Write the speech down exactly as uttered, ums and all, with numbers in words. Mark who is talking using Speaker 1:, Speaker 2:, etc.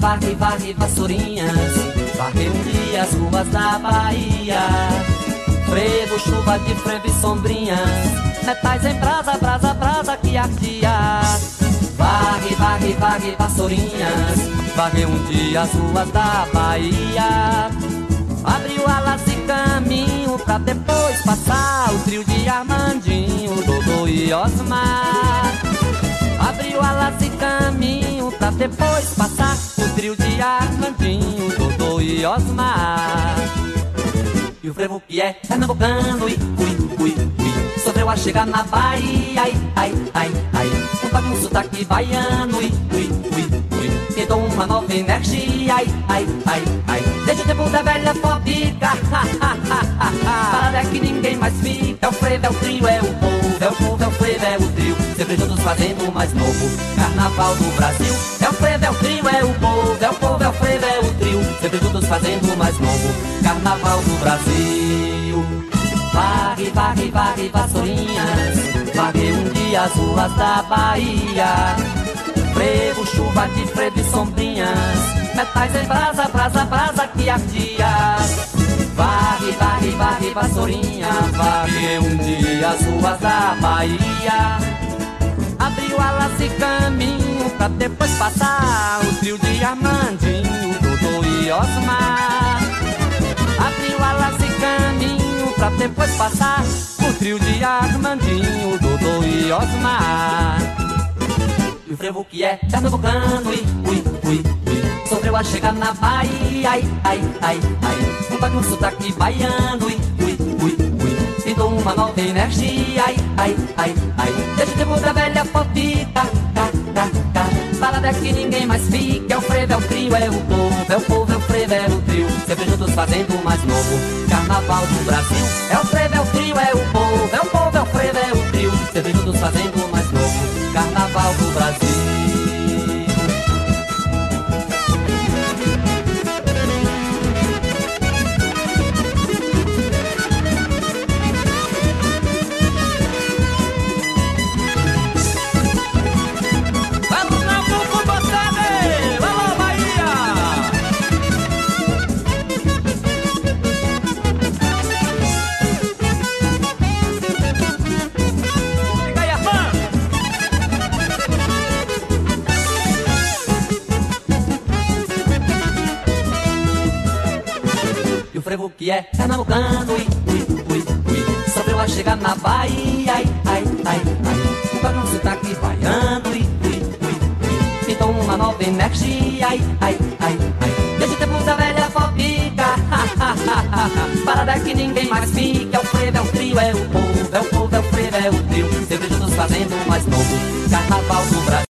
Speaker 1: varre, varre, vassourinhas, varre um dia as ruas da Bahia. Frevo, chuva de frevo e sombrinhas, metais em brasa, brasa, brasa que ardia. Varre, varre, varre, vassourinhas, varre um dia as ruas da Bahia. Abriu alas e caminho pra depois passar o trio de Armandinho, Dodô e Osmar. Abriu alas e caminho pra depois passar o trio de Armandinho, Dodô e Osmar. E o frevo que é pernambucano, ui, ui, ui, ui, sofreu a chegar na Bahia, ai, ai, ai, ai. Um pago um sotaque baiano, ui, ui, ui, ui, tentou uma nova energia, ai, ai, ai, ai. Desde o tempo da velha fobica, ha, ha, ha, ha, ha. Para que ninguém mais fica. É o frevo, é o trio, é o povo, é o povo, é o frevo, é o trio, sempre juntos fazendo o mais novo carnaval do Brasil. É o frevo, é o trio, é o povo, é o povo, é o frevo, é o trio, sempre juntos fazendo o mais novo carnaval do Brasil. Varre, varre, varre, vassourinhas, varre um dia as ruas da Bahia. Frevo, chuva de frevo e sombrinhas, metais em brasa, brasa, brasa que ardia. Varre, varre, varre, vassourinha, varre um dia as ruas da Bahia. Abriu alas e caminho pra depois passar o trio de Armandinho, Dodô e Osmar. Abriu alas e caminho pra depois passar o trio de Armandinho, Dodô e Osmar. E o frevo que é pernambucano, ui, ui, ui, ui, sofreu a chegar na Bahia, ai, ai, ai, ai. Um pago um sotaque baiano, ui, ui, ui, ui, tentou uma nova energia, ai, ai, ai, ai. Desde o tempo da velha fofica, tá, tá, tá. Parada que ninguém mais fica. É o frevo, é o trio, é o povo, é o povo, é o frevo, é o trio, sempre juntos fazendo o mais novo carnaval do Brasil. É o frevo, é o trio, é o povo, é o povo, é o frevo, é o trio, sempre juntos fazendo o mais novo carnaval do Brasil. O frevo que é pernambucano, ui, ui, ui, ui, sofreu a chegar na Bahia, ai, ai, ai, ai. Um pago um sotaque baiano, ui, ui, ui, ui, pintou uma nova energia, ai, ai, ai, ai. Desde o tempo da velha fobica, ha, ha, ha, ha, ha. Parada que ninguém mais fica. É o frevo, é o trio, é o povo, é o povo, é o frevo, é o trio, sempre juntos fazendo o mais novo carnaval do Brasil.